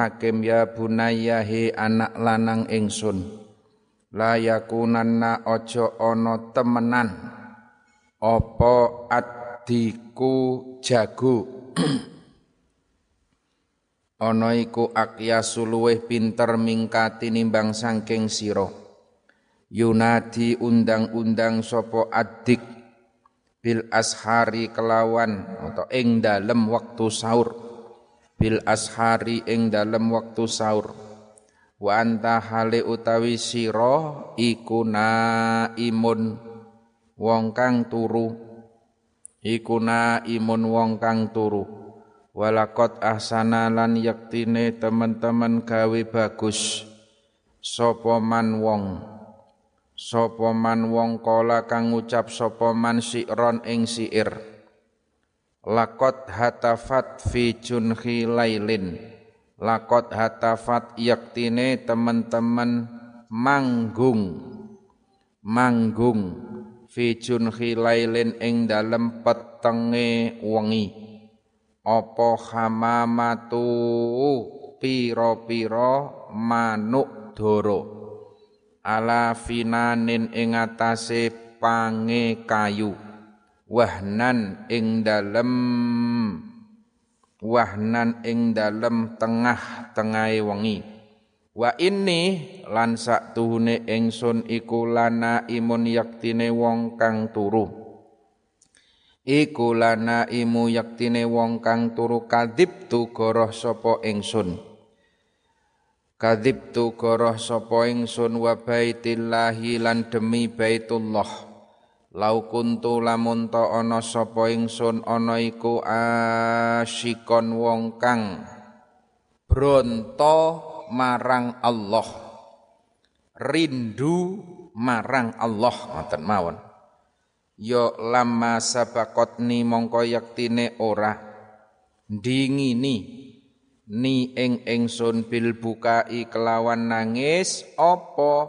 Hakim ya bunayya he anak lanang ingsun la yakunanna aja ana temenan apa addiku jago ana iku akyasu luweh pinter mingkati nimbang saking sira yunadi undang-undang sapa addik bil ashari kelawan atau ing dalem waktu sahur bil ashari ing dalem waktu sahur wa anta hale utawi sira iku naimun wong kang turu iku naimun wong kang turu walakot ahsana lan yaktine teman-teman gawe bagus sapa man wong kala kang ngucap sapa man si'ron ing si'ir lakot hatafat fi junhi lailin lakot hatafat yaktine teman-teman manggung fi junhi lailin ing dalem petenge wengi apa hamamatu pira-pira manuk dara ala finanin ing atase pange kayu wahnan ing dalem tengah-tengahe wengi wa inni lan saktuhune ingsun iku lana imun yaktine wong kang turu iku lana imu yaktine wong kang turu kadhibtu goroh sapa ingsun wa baitillahi lan demi baitullah lau kuntu lamun ta ana sapa ingsun ana iku asyikon wong kang bronto marang Allah rindu marang Allah ngoten mawon ya lama sabaqatni mongko yaktine ora dingini ni ing ingsun bil bukai kelawan nangis apa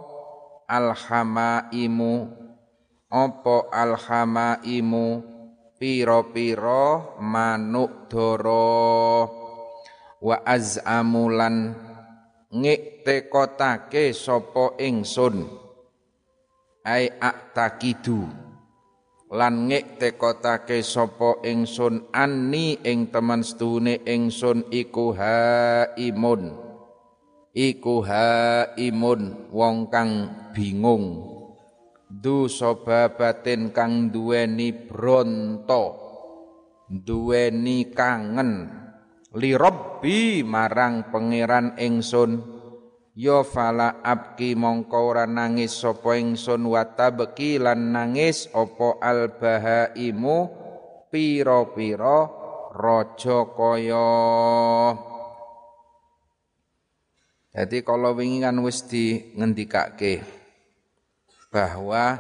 alhamaimu pira-pira manuk dara wa azamulan ngektekotake sapa ingsun ai aktakidu lan ngektekotake sapa ingsun anni ing temen sedune ingsun iku haimun wong kang bingung du sobabaten kang duweni bronto duweni kangen li rabbi marang pangeran ingsun ya fala abki mongko ora nangis sapa ingsun wa tabki lan nangis apa albahaimu pira-pira raja kaya. Jadi kalau wingi kan wis di ngendikake bahwa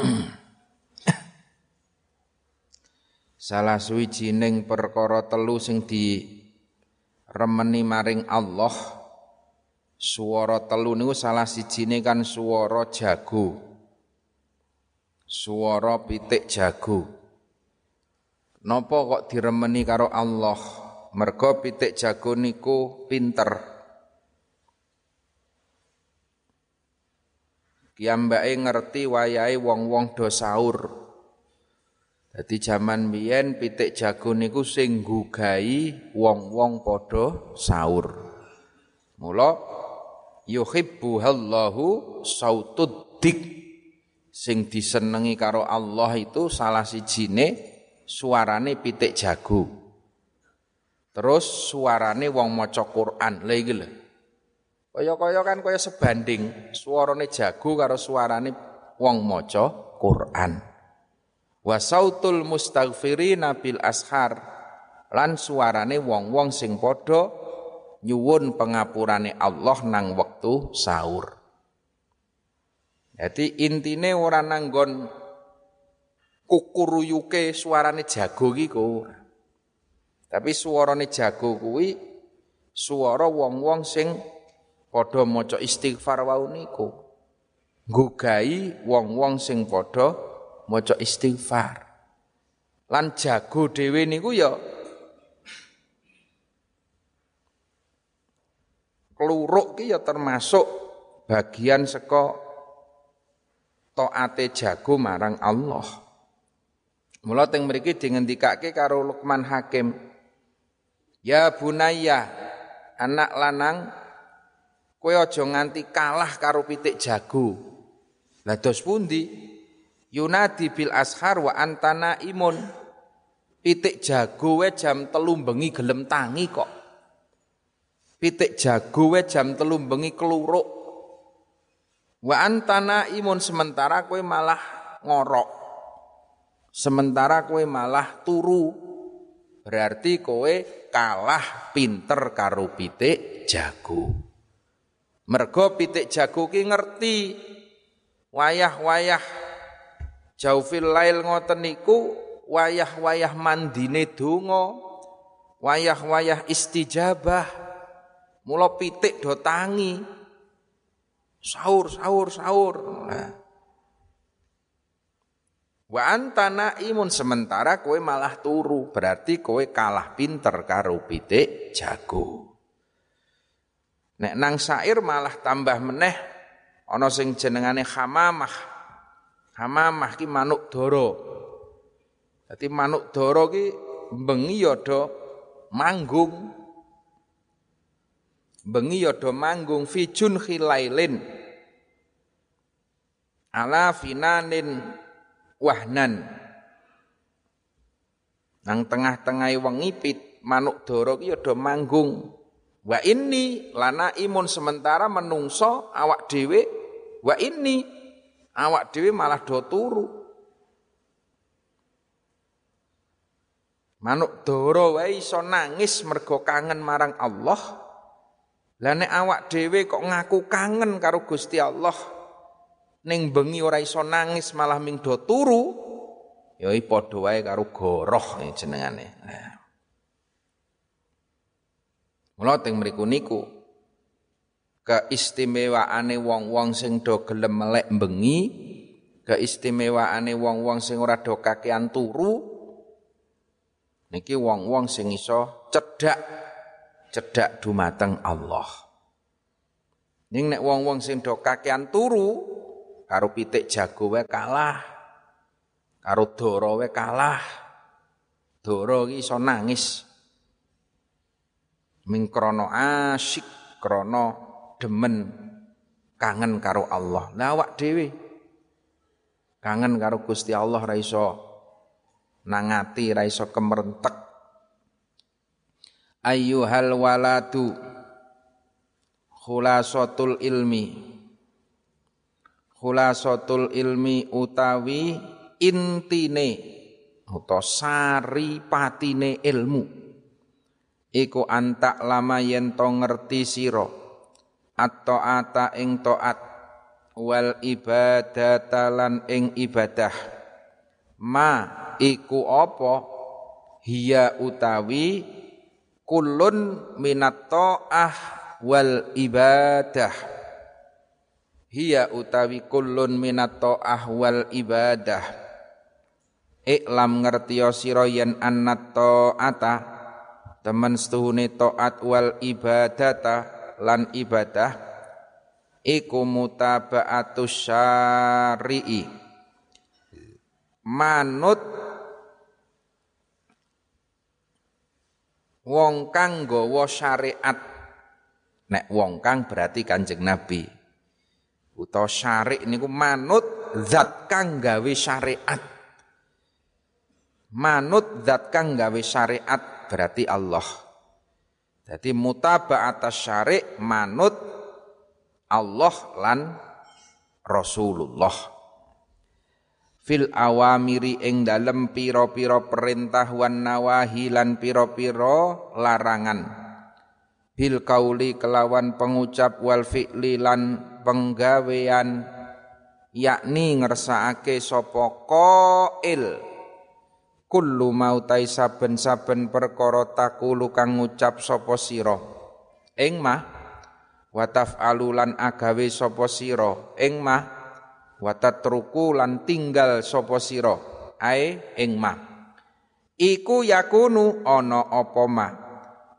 salah suwijining perkara telu sing diremeni maring Allah swara telu niku salah sijine kan swara jago. Swara pitik jago. Napa kok diremeni karo Allah? Merga pitik jago niku pinter. Kiyambake ngerti wayahe wong-wong do sahur. Dadi jaman biyen pitik jago niku sing nggugahi wong-wong padha sahur. Mula yuhibbuhallahu sautud dik sing disenengi karo Allah itu salah sijine suarane pitik jago. Terus suarane wong maca Quran. Lha iki lho. Kaya-kaya kan kaya sebanding suarane jago karo suarane wong maca Quran. Wa sautul mustaghfirina bil ashar lan suarane wong-wong sing padha nyuwun pengapurane Allah nang wektu sahur. Jadi intine ora nanggon kukuruyuke suarane jago iki kok. Tapi suarane jago kuwi suara wong-wong sing padha maca istighfar wau niku. Nggugahi wong-wong sing padha maca istighfar. Lan jago dhewe niku ya Kluruk ki ya termasuk bagian saka taate jago marang Allah. Mula teng mriki dingendikake karo Luqman Hakim, ya bunayya, anak lanang, kowe aja nganti kalah karo pitik jago. Lah dos pundi? Yunadi bil ashar wa antana imun. Pitik jago we jam 3 bengi gelem tangi kok. Pitik jago we jam 3 bengi keluruk. Wa antana imun, sementara kowe malah ngorok. Sementara kowe malah turu. Berarti kowe kalah pinter karo pitik jago. Mergo pitik jago ki ngerti wayah-wayah jaufil lail ngoten niku wayah-wayah mandine donga, wayah-wayah istijabah. Mula pitik do tangi. Sahur. Nah. Wa antana imun, sementara kowe malah turu, berarti kowe kalah pinter karo pitik jago. Nek nang syair malah tambah meneh ana sing jenengane hamamah. Hamamah ki manuk dara. Dadi manuk dara ki bengi ya do manggung. Bengi ya do manggung fi junhilailin ala finanin wahnan. Nang tengah-tengahe wengi manuk dara ki ya do manggung. Wa inni lana imun, sementara menungso awak dhewe wa inni awak dhewe malah do turu. Manuk dara wae iso nangis mergo kangen marang Allah. Lah nek awak dhewe kok ngaku kangen karo Gusti Allah, ning bengi ora iso nangis malah ming do turu, ya padha wae karo goroh jenengane. Mula teng mriku niku keistimewaane wong-wong sing do gelem melek bengi, keistimewaane wong-wong sing ora do kakean turu, niki wong-wong sing iso cedhak dumateng Allah. Ning nek wong-wong sing do kakean turu karo pitik jago wae kalah, karo dara wae kalah. Dara iki iso nangis ming krana asyik, krana demen kangen karo Allah. Lah awak dhewe kangen karo Gusti Allah ra iso nangati, ra iso kemerentek. Ayyuhal waladu khulasatul ilmi utawi intine utawa sari patine ilmu iku antak lama yen to ngerti sira at-ta'ata ing taat wal ibadata lan ing ibadah ma iku apa hiya utawi kullun minat ta'ah wal ibadah. Hiya utawi kullun minat ta'ah wal ibadah. Iklam ngertiya sira yen annat ta'ata temen setuhune ta'at wal ibadata lan ibadah iku mutaba'atus syari'i. Manut wong kang nggawa syariat. Nek wong kang berarti Kanjeng Nabi. Utawa syari' niku manut zat kang gawe syariat. Manut zat kang gawe syariat berarti Allah. Jadi mutaba'atas syari' manut Allah lan Rasulullah. Fil awamiri ing dalem pira-pira perintah wan nawahi lan pira-pira larangan. Bil kauli kelawan pengucap wal fi'li lan penggawean, yakni ngersakake sapa qail kullu mautai saben-saben perkara takulu kang ngucap sapa sira ing mah wa taf'alu lan agawe sapa sira ing mah wa tatruku lan tinggal sapa sira ae ing mah iku yakunu ana apa mah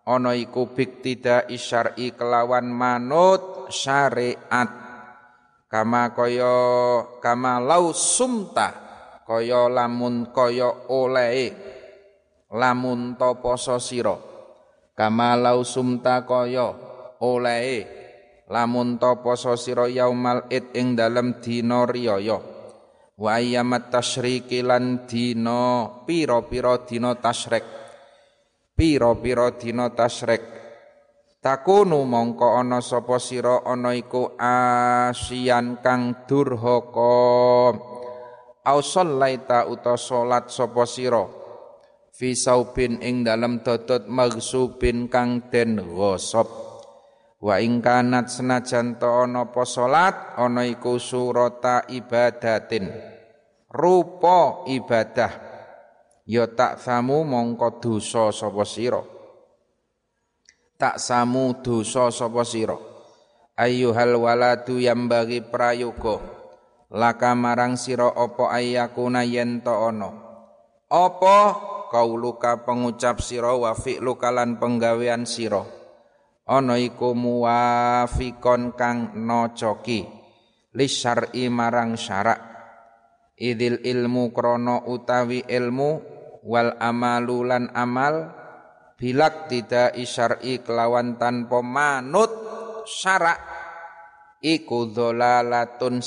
ana iku biktida isyar'i kelawan manut syariat kama lau sumta kaya lamun kaya olehe lamun ta poso sira kama lau sumta kaya olehe lamun ta poso sira yaumal id ing dalem dina riyaya wa ayyamat tasyriqi lan dina pira-pira dina tasyrik pira-pira dina tasyrik takunu mongko ana sapa sira ana iku asian kang durhaka au shallaita uta salat sapa sira fi saubin ing dalem dodot maghsubin kang den ghasab wa ing kanat senajan ta ana apa salat ana iku surata ibadatin rupa ibadah ya tak samu mongko dosa sapa sira tak samu dosa sapa sira ayyuhal waladu yambagi prayoga laka marang sira apa ayakuna yen ta ana apa kauluka pengucap sira wa fi'luka lan penggawean sira ana iku muwafiqon kang nocoki li syar'i marang syarak idil ilmu krana utawi ilmu wal amalu lan amal bilak tidak isyar'i kelawan tanpa manut syarak iku dholalatun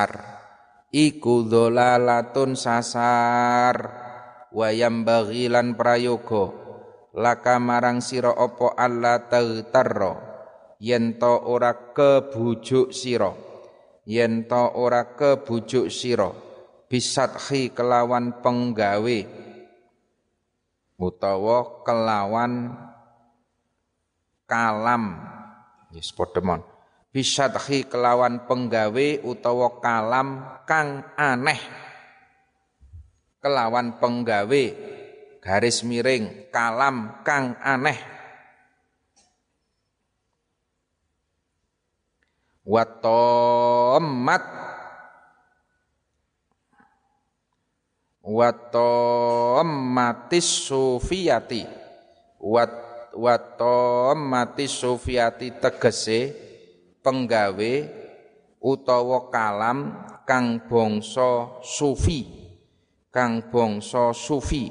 sasar wayam baghilan prayoga laka marang sira apa alla taghtarra yen ta ora kebujuk sira bisathi kelawan penggawe utawa kelawan kalam yes podemon bisathi kelawan penggawe utawa kalam kang aneh kelawan penggawe garis miring kalam kang aneh matis sufiyati tegese penggawe utawa kalam kang bangsa sufi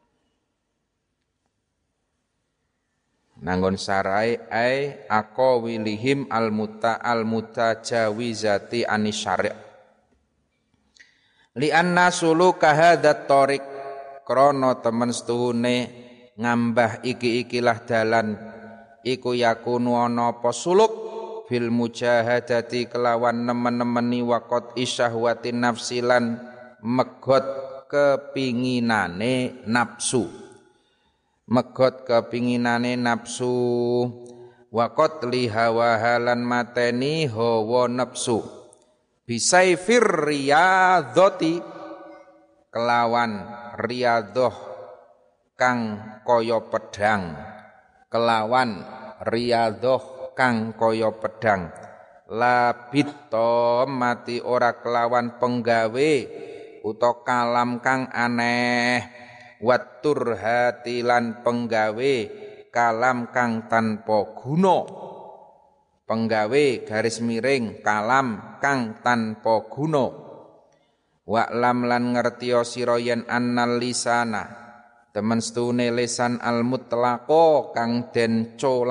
nanggon sarai ai aqawilihim al-mutajawizati anisyari' li anna suluka hadat tariq krana temen setuhune ngambah iki-ikilah dalan iku yakunu ana apa suluk bil mujahadati kelawan nemen-nemeni waqat isyahwati nafsilan megot kepinginane nafsu waqat li hawa halan mateni hawa nafsu bisaifir riyadhati kelawan riyadhah kang kaya pedang labito mati ora kelawan penggawe uta kalam kang aneh watur hatilan penggawe kalam kang tanpa guna penggawe garis miring kalam kang tanpa guna wa'lam lan ngertiya sira yen annal lisana temen stune lisan al mutlaqo kang den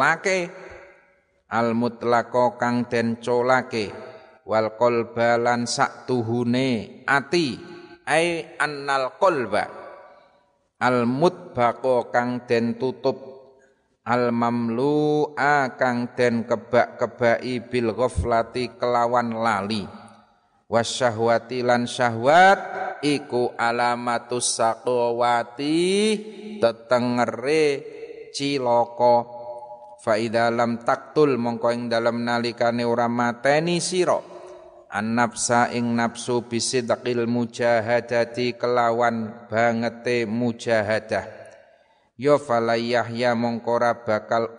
colake wal qalba lan saktuhune ati ai annal qalba al mutbaqo kang den tutup al mamlu'a kang den kebak-kebaki bil ghaflati kelawan lali wasyahwati lan syahwat iku alamatus saqawati tetengere cilaka fa idza lam taqtul mongko ing dalem nalikane ora mateni sira an-nafsa ing nafsu bisidqil mujahadati kelawan bangete mujahadah ya falayahya mongko ora bakal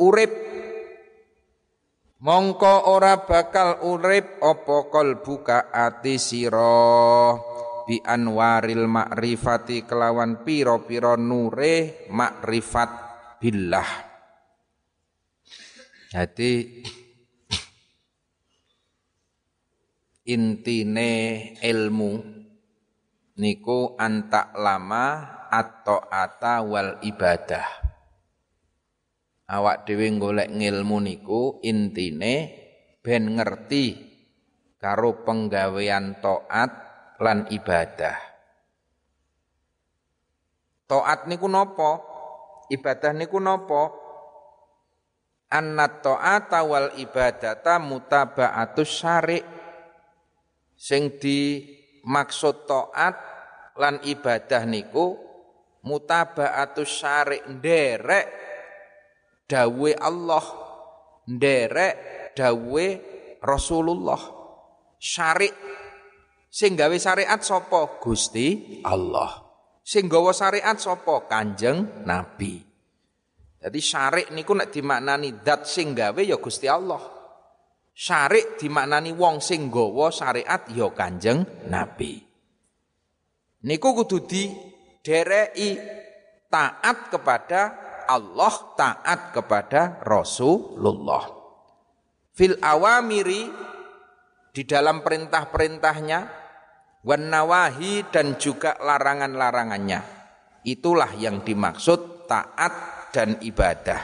urip apa qalbuka ati sira bi anwaril ma'rifati kelawan pira-pira nure makrifat billah Jadi intine ilmu niku antak lama atau ata wal ibadah. Awak dhewe golek ngilmu niku intine ben ngerti karo penggawean taat lan ibadah. Taat niku napa? Ibadah niku napa? Annat ta'ata wal ibadata mutaba'atus syari'. Sing dimaksud taat lan ibadah niku mutaba'atus syari', nderek dawuhe Allah, nderek dawuhe Rasulullah. Syari' sing gawe syariat sapa? Gusti Allah. Sing gawa syariat sapa? Kanjeng Nabi. Jadi syari' niku nek dimaknani zat sing gawe ya Gusti Allah. Syari' dimaknani wong sing gawa syariat ya Kanjeng Nabi. Niku kudu didereki taat kepada Allah, taat kepada Rasulullah. Fil awamiri di dalam perintah-perintahnya, wan nawahi dan juga larangan-larangannya. Itulah yang dimaksud taat dan ibadah.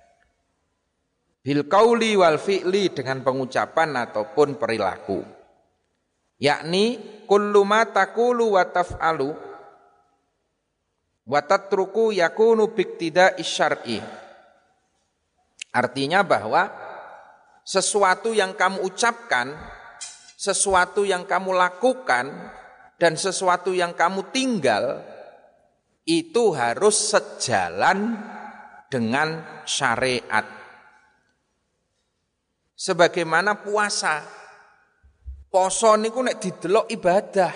Bil qauli wal fi'li, dengan pengucapan ataupun perilaku. Yakni kullu ma taqulu wa taf'alu wa tatruku yakunu biqtida'i syar'i. Artinya bahwa sesuatu yang kamu ucapkan, sesuatu yang kamu lakukan, dan sesuatu yang kamu tinggal itu harus sejalan dengan syariat. Sebagaimana puasa, poso niku nek didelok ibadah.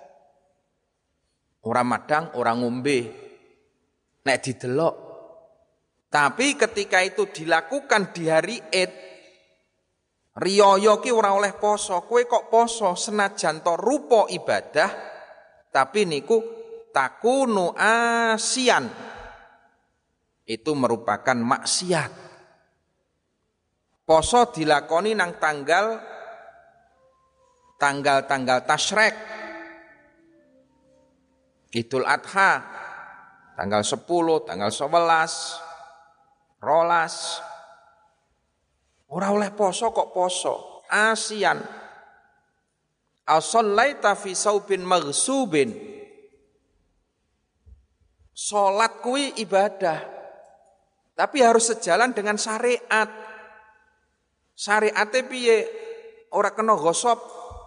Ora madang, ora ngombe, nek didelok. Tapi ketika itu dilakukan di hari Id, riyaya ki ora oleh poso. Kowe kok poso senajan to rupa ibadah, tapi niku takunu asian. Itu merupakan maksiat. Poso dilakoni nang tanggal tasyrik. Idul Adha tanggal 10, tanggal 11, 12. Ora oleh poso kok poso, asian. As-shallaita fi saubin maghsubin. Salat kuwi ibadah. Tapi harus sejalan dengan syariat. Syariate piye? Ora kena gosop.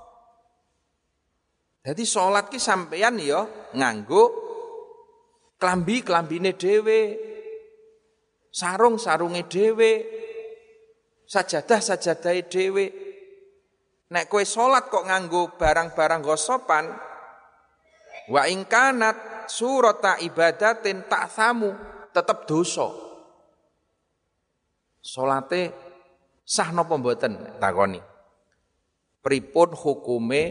Jadi salat ki sampeyan ya nganggo klambi-klambine dhewe, sarung-sarunge dhewe, sajadah-sajadahe dhewe. Nek kowe salat kok nganggo barang-barang gosopan, wa ing kanat surata ibadatin ta'thamu, tetep dosa. Salate sah napa mboten takoni. Pripun hukume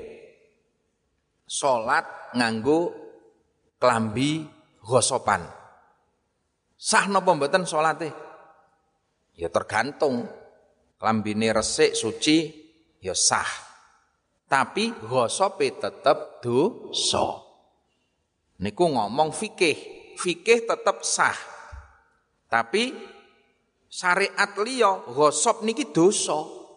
salat nganggo klambi gosopan? Sah napa mboten salate? Ya tergantung. Klambine resik suci ya sah. Tapi gosope tetep dosa. Niku ngomong fikih. Fikih tetep sah. Tapi syariat liya gosop niki dosa.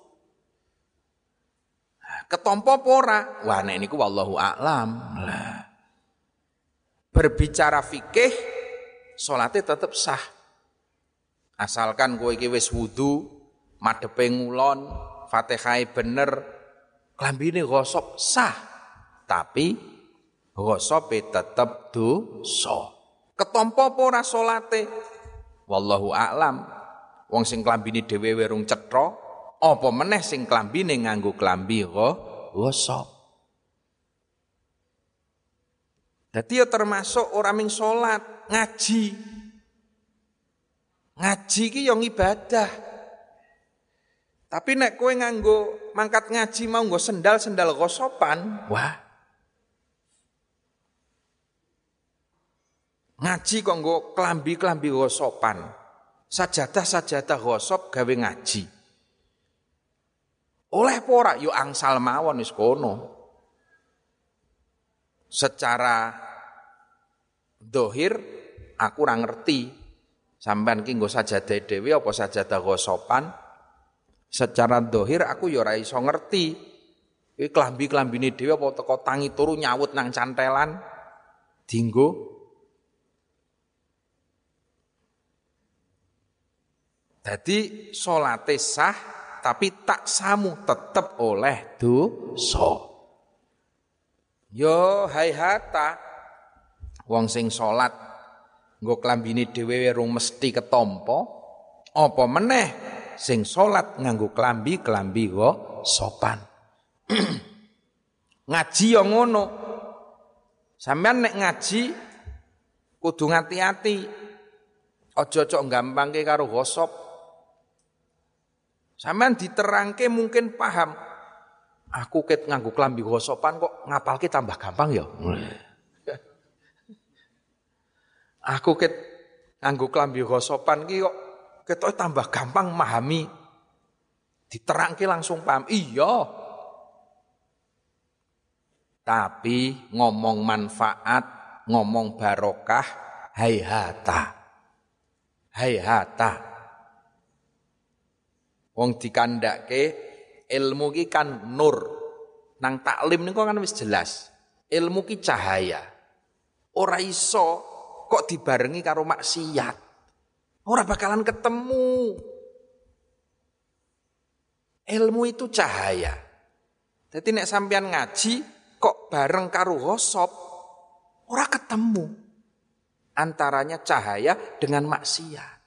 Ketompo apa ora? Wah nek niku wallahu a'lam. Lah. Berbicara fikih salate tetep sah. Asalkan kowe iki wis wudu, madhepe ngulon, Fatihah bener, klambine gosop sah. Tapi gosope tetep dosa. Ketompo apa ora salate? Wallahu a'lam. Wong sing klambine dhewe werung cetha, apa meneh sing klambine nganggo klambi gosok. Dadi ya termasuk ora ming salat, ngaji. Ngaji ki ya ibadah. Tapi nek kowe nganggo mangkat ngaji mau nggo sendal-sendal gosopan, wah. Ngaji kok nggo klambi-klambi gosopan. sajadah ghosab gawe ngaji. Oleh apa ora? Yo angsal mawon wis kono. Secara dohir aku ora ngerti sampean ki nggo sajadah dhewe apa sajadah ghosopan. Secara dohir aku ya ora iso ngerti. Iki klambi-klambine dhewe apa teko tangi turu nyawut nang cantelan dienggo. Jadi salate sah tapi tak samu tetep oleh dosa. Yo hayhata wong sing salat nggo klambine dhewe rung mesti ketampa, apa meneh sing salat nganggo klambi sopan. Ngaji yo ngono. Sampeyan nek ngaji kudu ngati-ati. Aja cok gampangke karo gosop. Sampeyan diterangke mungkin paham. Aku ket nganggo klambi gosopan kok ngapalke tambah gampang ya. Aku ket nganggo klambi gosopan ki kok ketoke tambah gampang memahami. Diterangke langsung paham. Iya. Tapi ngomong manfaat, ngomong barokah, hayhata. Hayhata. Wong dikandhake ilmu ki kan nur. Nang taklim niku kan wis jelas. Ilmu ki cahaya. Ora iso kok dibarengi karo maksiat. Ora bakalan ketemu. Ilmu itu cahaya. Jadi nek sampean ngaji kok bareng karo ghosab ora ketemu. Antaranya cahaya dengan maksiat.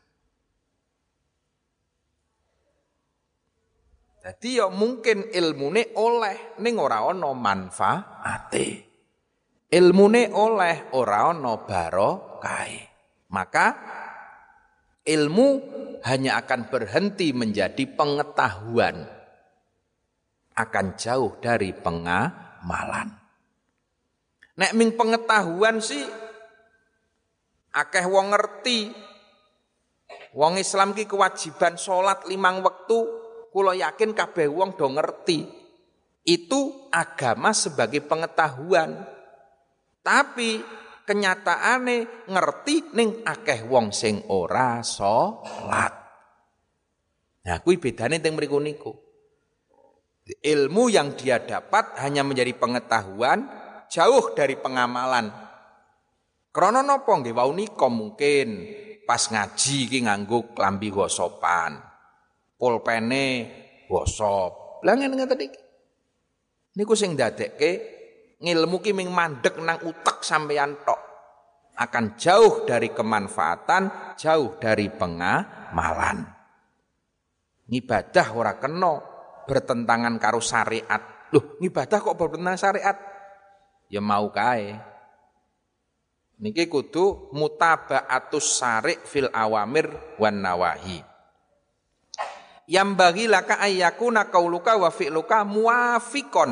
Jadi ya mungkin ilmune oleh ning ora ana manfaate. Ilmune oleh ora ana barokahe. Maka ilmu hanya akan berhenti menjadi pengetahuan. Akan jauh dari pengamalan. Nek ming pengetahuan sih akeh wong ngerti. Wong Islam ki kewajiban salat 5 wektu. Kula yakin kabeh wong do ngerti. Itu agama sebagai pengetahuan. Tapi kenyataane ngerti ning akeh wong sing ora salat. Nah, kuwi bedane teng mriku niku. Ilmu yang dia dapat hanya menjadi pengetahuan, jauh dari pengamalan. Krana napa nggih wau nika mungkin pas ngaji ki nganggo klambi gosopan. Pulpene gosop. Lah ngene-ngene iki. Niku sing ndadekke ngilmu ki ming mandeg nang utek sampeyan tok. Akan jauh dari kemanfaatan, jauh dari pengamalan. Ngibadah ora kena bertentangan karo syariat. Loh, ngibadah kok bertentangan syariat? Ya mau kae. Niki kudu mutaba'atus syari' fil awamir wan nawahi. Yang bagi laka ayyakuna qauluka wa fi'luka muafiqon.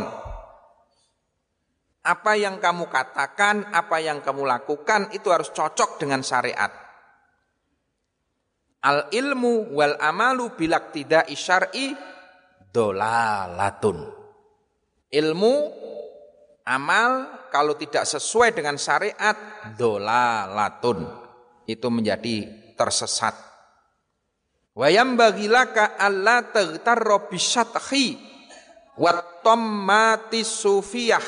Apa yang kamu katakan, apa yang kamu lakukan itu harus cocok dengan syariat. Al ilmu wal amalu bilaqtida'i syar'i dolalatun. Ilmu, amal kalau tidak sesuai dengan syariat dolalatun. Itu menjadi tersesat. Wa yambaghi laka alla taghtarra bisyathi wa tammati sufiyah.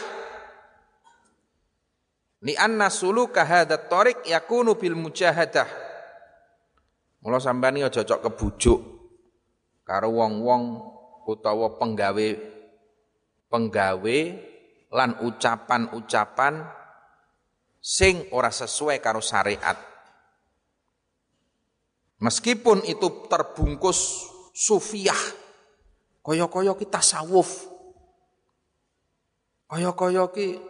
Li anna suluka hadzal tariq yakunu bil mujahadah. Mula sampeyan iki aja cocok kebujuk karo wong-wong utawa penggawe lan ucapan-ucapan sing ora sesuai karo syariat. Meskipun itu terbungkus sufiyah, kaya-kaya ki tasawuf, kaya-kaya ki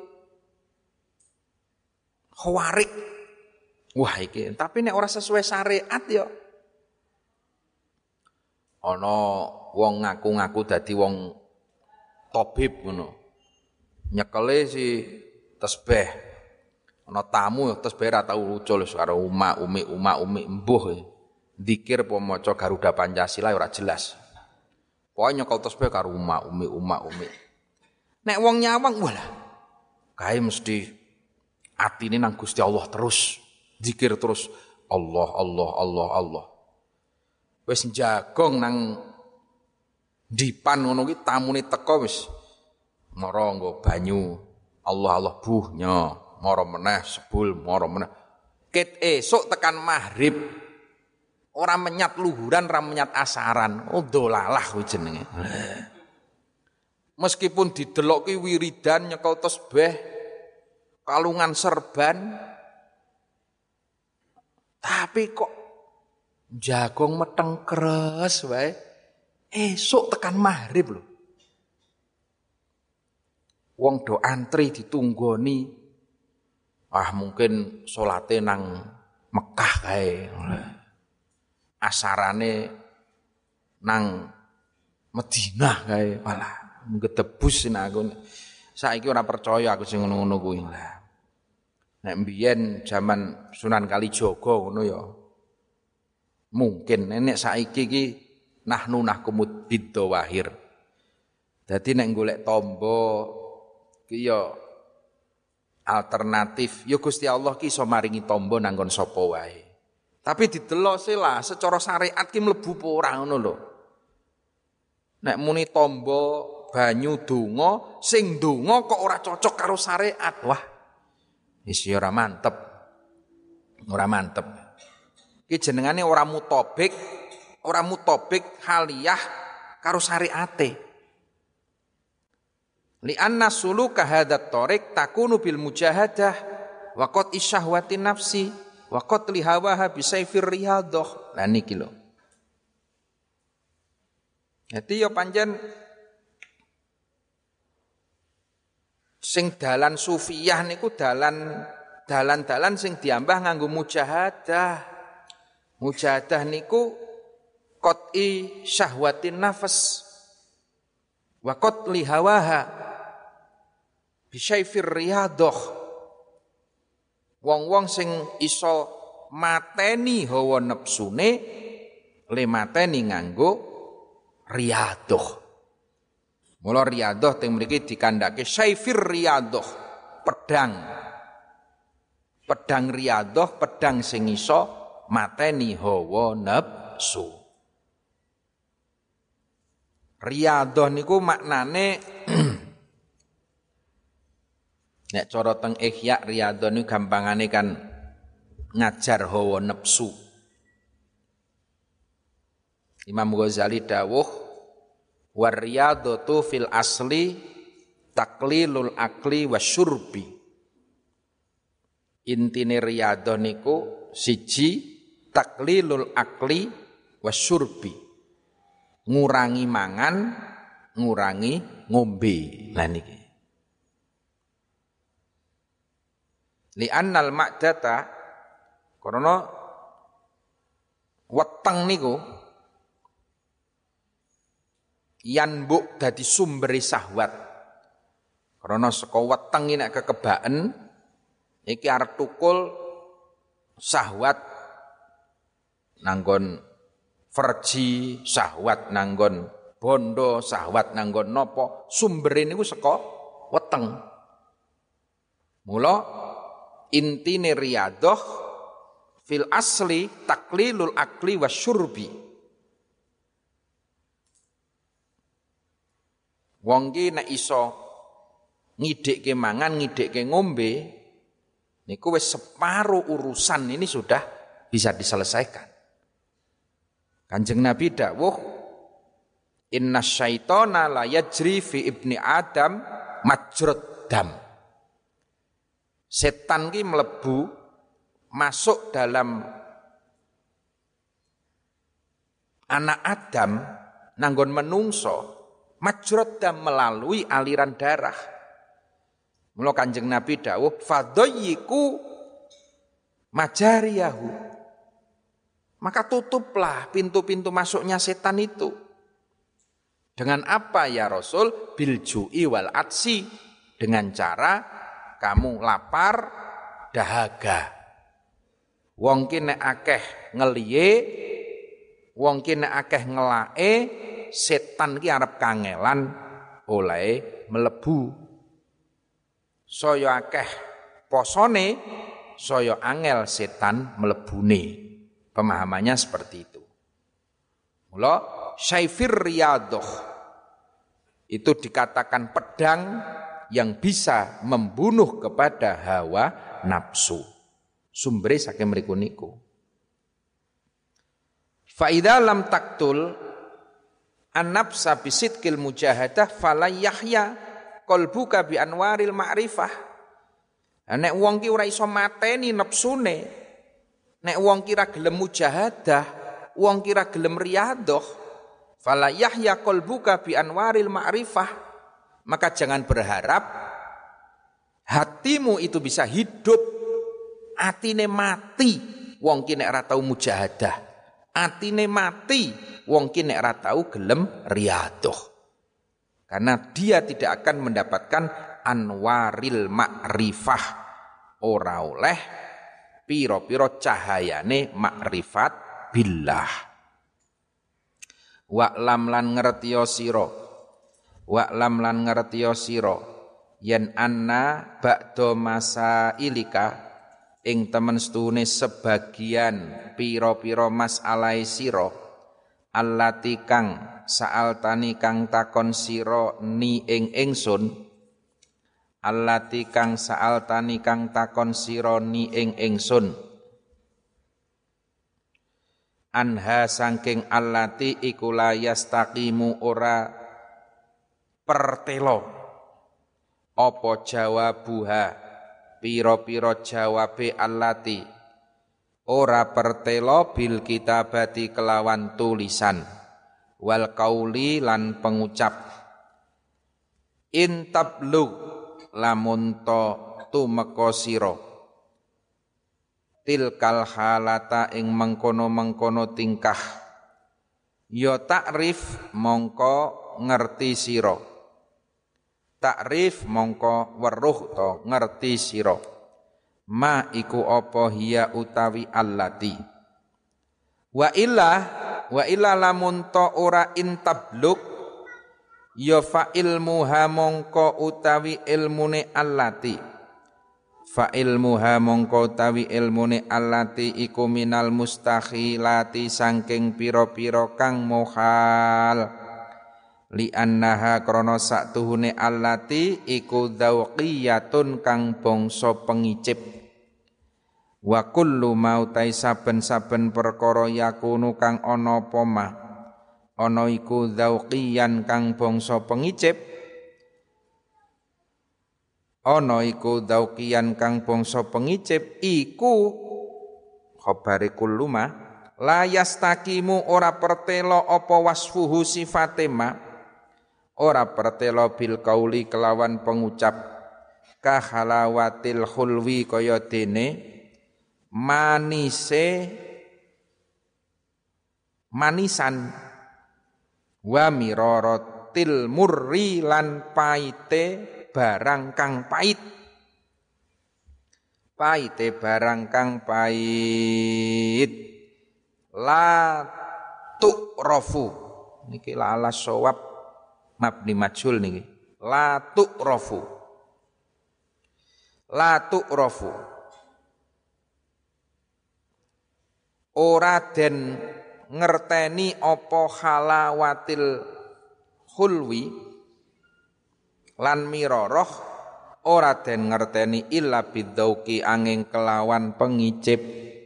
khawarik. Wah iki, tapi nek ora sesuai syariat ya. Ana wong ngaku-ngaku dadi wong tabib ngono. Nyekele si tasbih. Ana tamu tasbih ra tau ucul karo umi embuh. Zikir apa maca Garuda Pancasila ora jelas. Pokoke nyekel tasbih karo umi. Nek wong nyawang walah kae mesti atine nang Gusti Allah terus, zikir terus Allah. Wis njagong nang dipan ngono ki tamune teko wis mara nggo banyu. Allah buhnya, mara meneh sebul, mara meneh. Ket esuk tekan maghrib ora menyat luhuran, ora menyat asaran. Oh dolalah kuwi jenenge. Meskipun didelok ki wiridan nyekel tasbih, kalungan serban, tapi kok jagong meteng keres wae. Esuk tekan maghrib lho. Wong do antri ditunggoni. Mungkin salate nang Mekah kae. Asarane nang Madinah kae. Walah, ngedebus aku. Saiki ora percaya aku sing ngono-ngono kuwi. Nek mbiyen zaman Sunan Kalijaga ngono ya. Mungkin nek saiki iki nahnu nahkumud bidzawahir. Dadi nek golek tamba ki ya alternatif. Ya Gusti Allah ki iso maringi tamba nang nggon sapa wae. Tapi didelok sela secara syariat ki mlebu apa ora ngono lho. Nek muni tamba banyu donga, sing donga kok ora cocok karo syariat. Wah. Wis ora mantep. Ora mantep. Ki jenengane ora mutabik haliyah karo syariate. Li anna suluka hadat tariq takunu bil mujahadah wa qat isyahwati nafsi wa qat li hawaha bi sayfir riyadah. Lah niki lho. Dadi ya pancen sing dalan sufiyah niku dalan sing diambah nganggo mujahadah. Mujahadah niku qat'i syahwatin nafs wa qatli hawaha bi sayfir riyadah. Wong-wong sing iso mateni hawa nepsune le mateni nganggo riyadah. Mula riyadah teng mriki dikandhake sayfir riyadah, pedang riyadah, pedang sing iso mateni hawa nafsu. Riyadah niku maknane nek cara teng Ihya riyadah niku gampangane kan ngajar hawa nafsu. Imam Ghazali dawuh war riyadatu fil asli taklilul akli wasyurbi. Intine riyadah niku siji taklilul akli wasyurbi. Ngurangi mangan, ngurangi ngombe. Lah niki. Li'annal ma'data karena weteng niku yanbuk dadi sumbere syahwat. Karena saka weteng iki nek kekebaken iki arep tukul syahwat nanggon verji, syahwat nanggon bondo, syahwat nanggon napa, sumbere niku saka weteng. Mula intine riyadah fil asli taklilul akli wasyurbi. Wong ki nek iso ngidhikke mangan, ngidhikke ngombe, niku wis separuh urusan ini sudah bisa diselesaikan. Kanjeng Nabi dawuh, inna syaitana la yajri fi ibni Adam majrad dam. Setan ki mlebu masuk dalam anak Adam nanggon menungso majrad dam melalui aliran darah. Mula Kanjeng Nabi dawuh fadayyiku majariyahu. Maka tutuplah pintu-pintu masuknya setan itu. Dengan apa ya Rasul? Bil ju'i wal atsi. Dengan cara kamu lapar, dahaga. Wong ki nek akeh ngeliye, Wong ki nek akeh ngelake, setan ki arep kangelan oleh mlebu. Saya akeh posone, saya angel setan mlebune. Pemahamannya seperti itu. Mula Syaifir Riyadoh itu dikatakan pedang yang bisa membunuh kepada hawa nafsu. Sumbere saking mriku niku. Fa idza lam taktul an-nafsa bisidqil mujahadah fala yahya qalbuka bi anwaril ma'rifah. Nek wong ki ora iso mateni nafsune, nek wong ki ra gelem mujahadah, wong ki ra gelem riyadhah, fala yahya qalbuka bi anwaril ma'rifah, maka jangan berharap hatimu itu bisa hidup, atine mati wong ki nek ora tau mujahadah. Atine mati wong ki nek ora tau gelem riyadhah. Karena dia tidak akan mendapatkan anwaril ma'rifah, ora oleh piro-piro cahayane makrifat billah. Wa'lam lan ngertiya sira, wa'lam lan ngertiya sira yen anna ba'da masailika ing temen setune sebagian pira-pira masalahe sira allati kang sa'altani kang takon sira ni ing ingsun, allati kang sa'altani kang takon sira ni ing ingsun, anha saking allati iku la yastaqimu ora pertelo apa jawabuha pira-pira jawabe allati ora pertelo bil kitabati kelawan tulisan wal qauli lan pengucap intablug lamun to tumeka sira tilkal halata ing mengkono-mengkono tingkah ya takrif mongko ngerti sira, takrif mongko weruh to ngerti sira ma iku apa hiya utawi allati wa illa lamun to ora intabluk ya fa ilmuha mongko utawi ilmune allati, fa ilmuha mongko utawi ilmune allati iku minal mustakhilati saking pira-pira kang muhal li annaha krana saktuhune allati iku dzauqiyatun kang bangsa pengicip wa kullu mautai saben-saben perkara yakunu kang ana apa mah ana iku dzauqiyan kang bangsa pengicip, ana iku dzauqiyan kang bangsa pengicip iku khabare kullu ma la yastaqimu ora pertelo apa wasfuhu sifate ma, ora pertelo bil qauli kelawan pengucap ka halawatil khulwi kaya dene manisan wa miraratil murri lan paite barang kang pait, paite barang kang pait la tu'rafu niki la ala shawab mabni majhul niki la tu'rafu, la tu'rafu ora den ngerteni apa halawatil khulwi lan miroroh ora den ngerteni illa bidzauqi angin kelawan pengicip,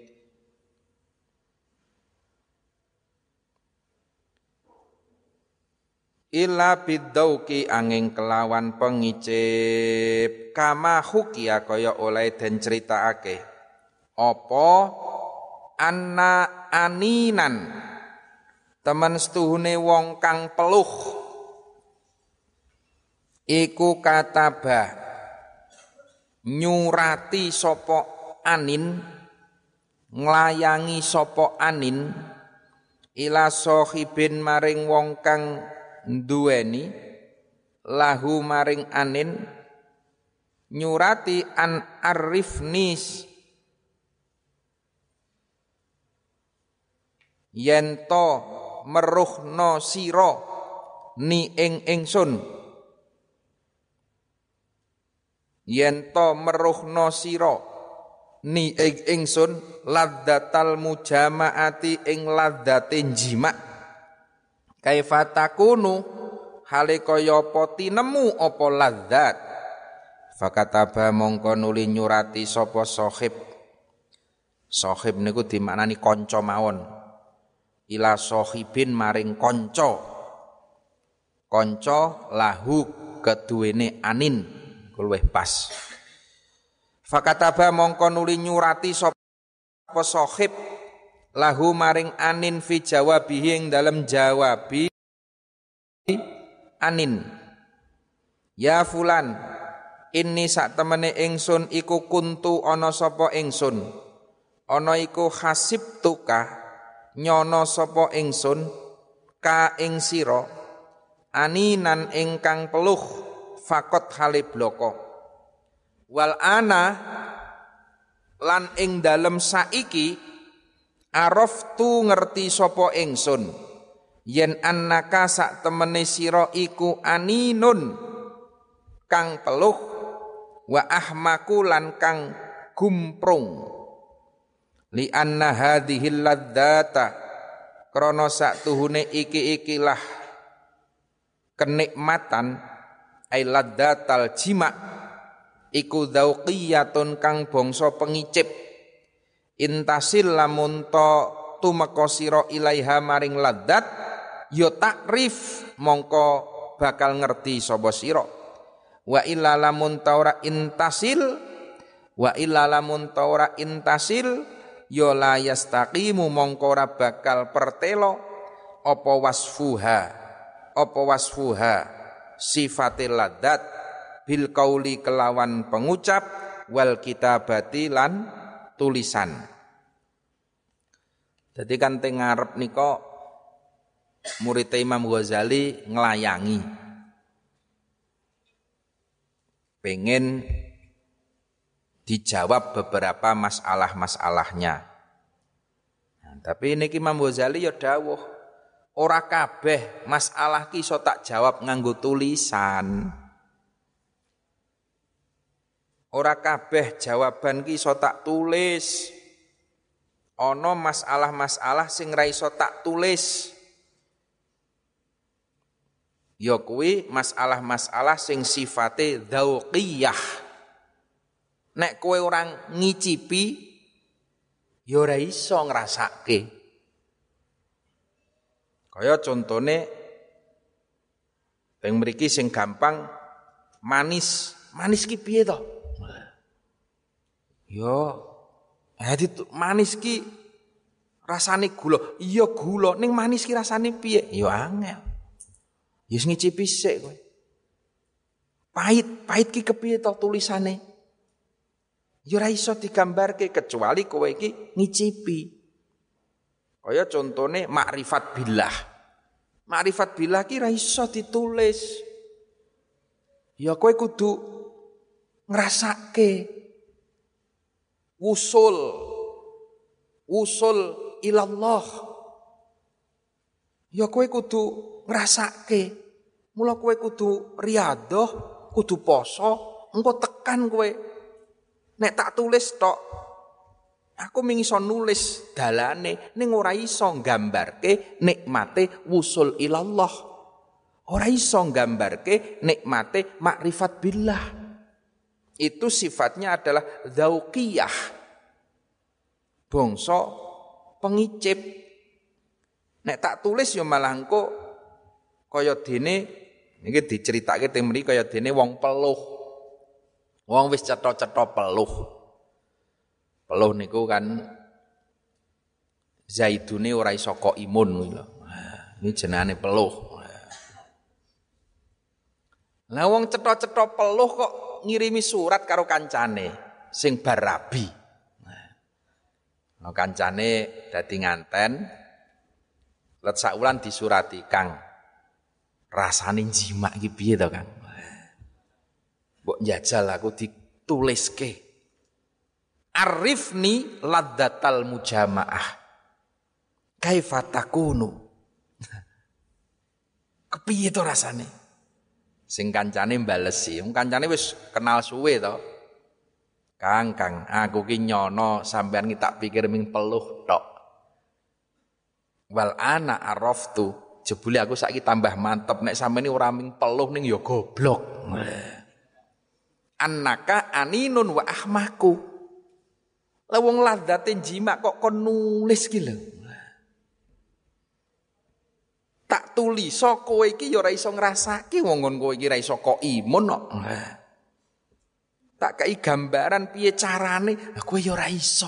illa bidzauqi angin kelawan pengicip kama hukia kaya oleh den critakake apa anna aninan temen setuhune wong kang peluh iku kataba nyurati sapa anin nglayangi sapa anin ila sahibin maring wong kang duweni lahu maring anin nyurati an arifnis yen to meruhna sira ni ing ingsun yen to meruhna sira ni ing ingsun ladzatal mujamaati ing ladzate jima kaifa takunu hale kaya apa tinemu apa ladzat fakataba mongko nuli nyurati sapa sahib niku dimaknani kanca mawon ila sahibin maring kanca lahu keduwene anin luwih pas fakataba mongko nuli nyurati sapa sahib lahu maring anin fi jawabihi ing dalem jawabi anin ya fulan inni sak temene ingsun iku kuntu ana sapa ingsun ana iku hasibtuka nyono sapa ingsun ka ing sira aninan ingkang peluh fakot hale bloko wal ana lan ing dalem saiki araftu ngerti sapa ingsun yen annaka sak temene sira iku aninun kang peluh wa ahmaku lan kang gumprung li anna hadhil ladzata krana saktuhune iki-ikilah kenikmatan ai ladzatal jima iku dzauqiyatun kang bangsa pengicip intasil lamun to tumeka sira ilaiha maring ladzat ya takrif mongko bakal ngerti sapa sira wa illa lamun taura intasil ya la yastaqimu mongko ora bakal pertelo apa wasfuha sifatil ladzat bil qauli kelawan pengucap wal kitabati lan tulisan. Jadi kan teng ngarep nika murid Imam Ghazali nglayangi pengen dijawab beberapa masalah-masalahnya. Nah, tapi niki Imam Ghazali ya dawuh, ora kabeh masalah ki iso tak jawab nganggo tulisan. Ora kabeh jawaban ki iso tak tulis. Ana masalah-masalah sing ra iso tak tulis. Ya kuwi masalah-masalah sing sifate dzauqiyah. Nek kowe orang ngicipi ya ora iso ngrasake. Kaya contone teng mriki sing gampang manis ki piye to? Ya manis ki rasane gula. Iya gula, ning manis ki rasane piye? Ya angel. Ya ngicipi sik kowe. Pahit ki kepiye to tulisane? Ya ora iso digambarke kecuali kowe iki ngicipi. Kaya contone makrifat billah. Makrifat billah ki ora iso ditulis. Ya kowe kudu ngrasake. Wusul ilallah. Ya kowe kudu ngrasake. Mula kowe kudu riyadhah, kudu poso, engko tekan kowe. Nek tak tulis tok, aku iso nulis dalane, ning ora iso nggambarke nikmate wusul ilallah. Ora iso nggambarke nikmate makrifat billah. Itu sifatnya adalah dzauqiyah. Bangsa pengicip. Nek tak tulis ya malah engko kaya dene niki diceritake teng mriki kaya dene wong peluh. Wong wis cetha-cetha peluh. Peluh niku kan zaidune ora iso kok imun kuwi lho. Ini jenenge peluh. Lah wong cetha-cetha peluh kok ngirimi surat karo kancane sing bar rabi. Nah, kancane dadi nganten let sakwulan disurati, "Kang, rasane jimak iki piye to, Kang?" Mbok njajal aku dituliske. Arifni ladzatal mujamaah. kaifa takunu. Kepiye to rasane? Sing kancane balesi, kancane wis kenal suwe to. Kang, aku ki nyono sampean ki tak pikir ming peluh tok. Wal ana araftu, jebule aku saiki tambah mantep nek sampeyan ora ming peluh ning ya goblok. Annaka aninun wa ahmaku. Lah wong ladzate jima kok kon nulis ki lho. Tak tuliso kowe iki ya ora iso ngrasake wong kowe iki ora iso kok imun kok. Tak kei gambaran piye carane, kowe ya ora iso.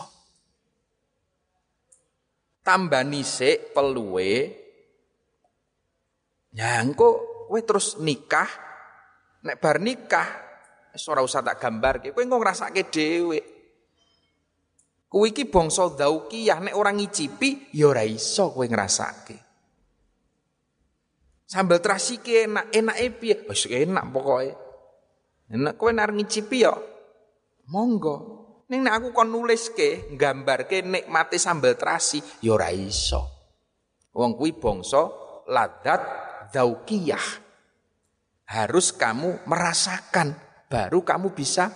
Tambah nisik peluwe. Ya engko kowe terus nikah. Nek bar nikah wis ora usah tak gambarke, kowe engko ngrasake dhewe. Kowe iki bangsa dzauqiyah nek ora ngicipi ya ora iso kowe ngrasake. Sambel terasi ki enake piye? Wis enak pokoke. Nek kowe nek ngicipi ya monggo. Ning nek aku kon nuliske, nggambarke nikmate sambel terasi ya ora iso. Wong kuwi bangsa ladzat dzauqiyah. Harus kamu merasakan baru kamu bisa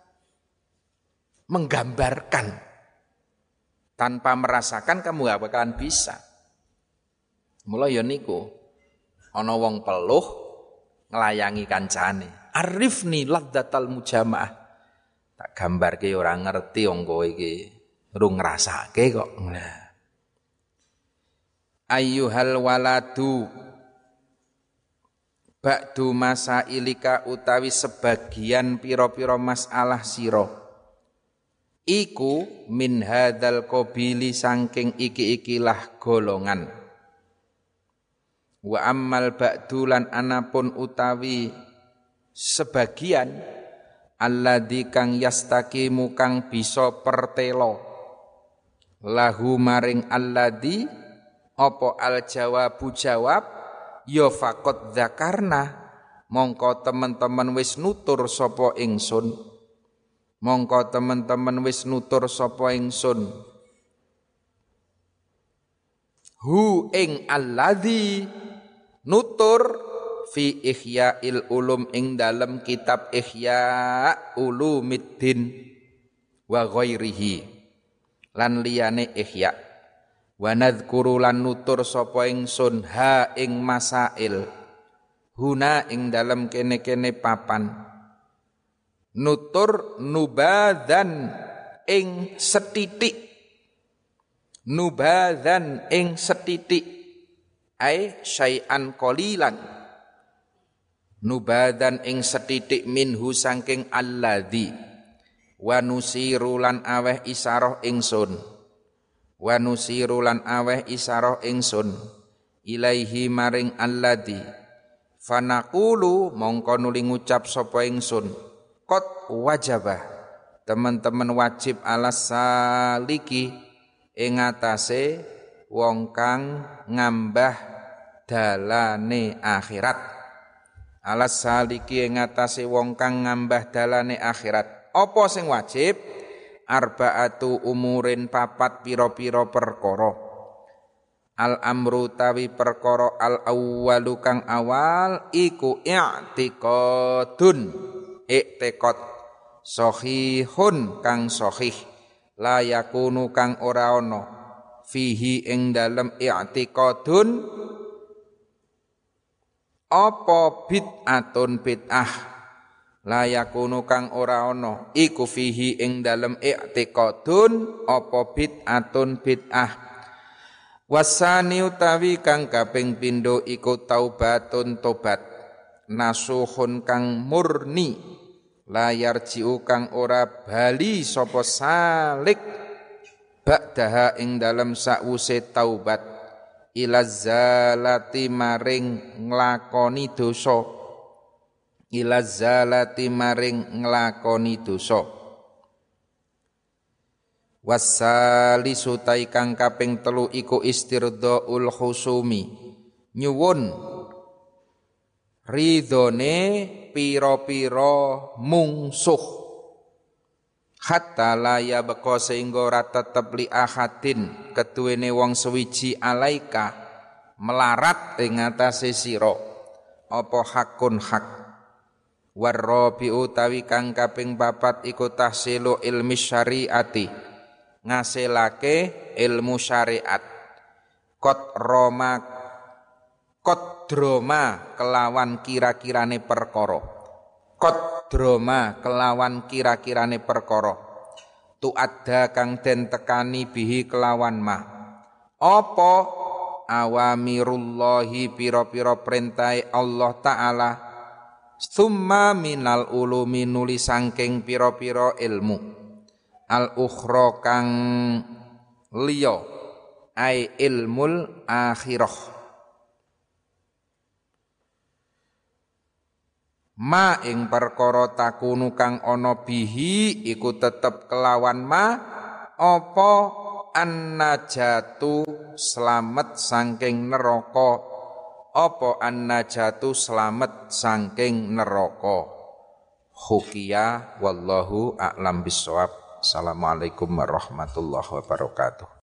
menggambarkan. Tanpa merasakan kamu gak bakalan bisa. Mula ya niku ana wong peluh nglayangi kancane. Arifni ladzatal mujamaah. Tak gambarke ora ngerti wong kowe iki. Rung ngrasake kok. Ayyuhal waladu ba'du masailika utawi sebagian pira-pira masalah sira. Iku min hadzal qabili saking iki-ikilah golongan. Wa ammal ba'du lan anapun utawi sebagian alladzi kang yastaqimu kang bisa pertelo lahu maring alladzi apa al jawabu jawab ya faqad dzakarna mongko teman-teman wis nutur sapa ingsun hu ing alladzi nutur fi Ihya'il Ulum ing dalem kitab Ihya Ulumiddin wa ghairihi lan liyane Ihya wa nadzkuru lan nutur sapa ingsun ha ing masail huna ing dalem kene-kene papan nutur nubadzan ing setitik ai syai'an qalilan nubadan ing setitik minhu saking alladzi wa nusiru lan aweh isarah ingsun ilaihi maring alladzi fanaqulu mongko nuli ngucap sapa ingsun qad wajabah teman-teman wajib alas saliki ing atase wong kang ngambah dalane akhirat alas saliki ing atase wong kang ngambah dalane akhirat. Apa sing wajib? Arba'atu umurin papat pira-pira perkara. Al amru tawi perkara al awwalu kang awal iku i'tiqadun. I'tiqad sahihun kang sahih. La yakunu kang ora ana fihi ing dalem i'tiqadun apa bid'atun bid'ah la yakunu kang ora ana iku fihi ing dalem i'tiqadun apa bid'atun bid'ah wasani utawi kang kaping pindho iku taubatun tobat nasuhun kang murni la yarji'u kang ora bali sapa salik ba'daha ing dalem sakwuse taubat ilazalati maring nglakoni dosa wasalisu tai kang kaping telu iku istirdaul khusumi nyuwun ridhone pira-pira mungsuh hatta la yabqa sehingga ora tetep li ahadin keduwene wong sewiji alaika melarat ing atase sira apa hakun hak warrabi utawi kang kaping 4 iku tahsilu ilmi syariati ngasilake ilmu syariat kodroma kelawan kira-kirane perkara kodroma kelawan kira-kirane perkara tu ada kang den tekani bihi kelawan ma apa awamirullahi pira-pira perintahe Allah taala summa minal ulumi nuli sangking pira-pira ilmu al ukhra kang liya ai ilmul akhirah ma ing perkara takunu kang ana bihi iku tetep kelawan ma apa annajatu slamet sangking neraka apa annajatu slamet sangking neraka hukiya wallahu a'lam bissawab. Assalamualaikum warahmatullahi wabarakatuh.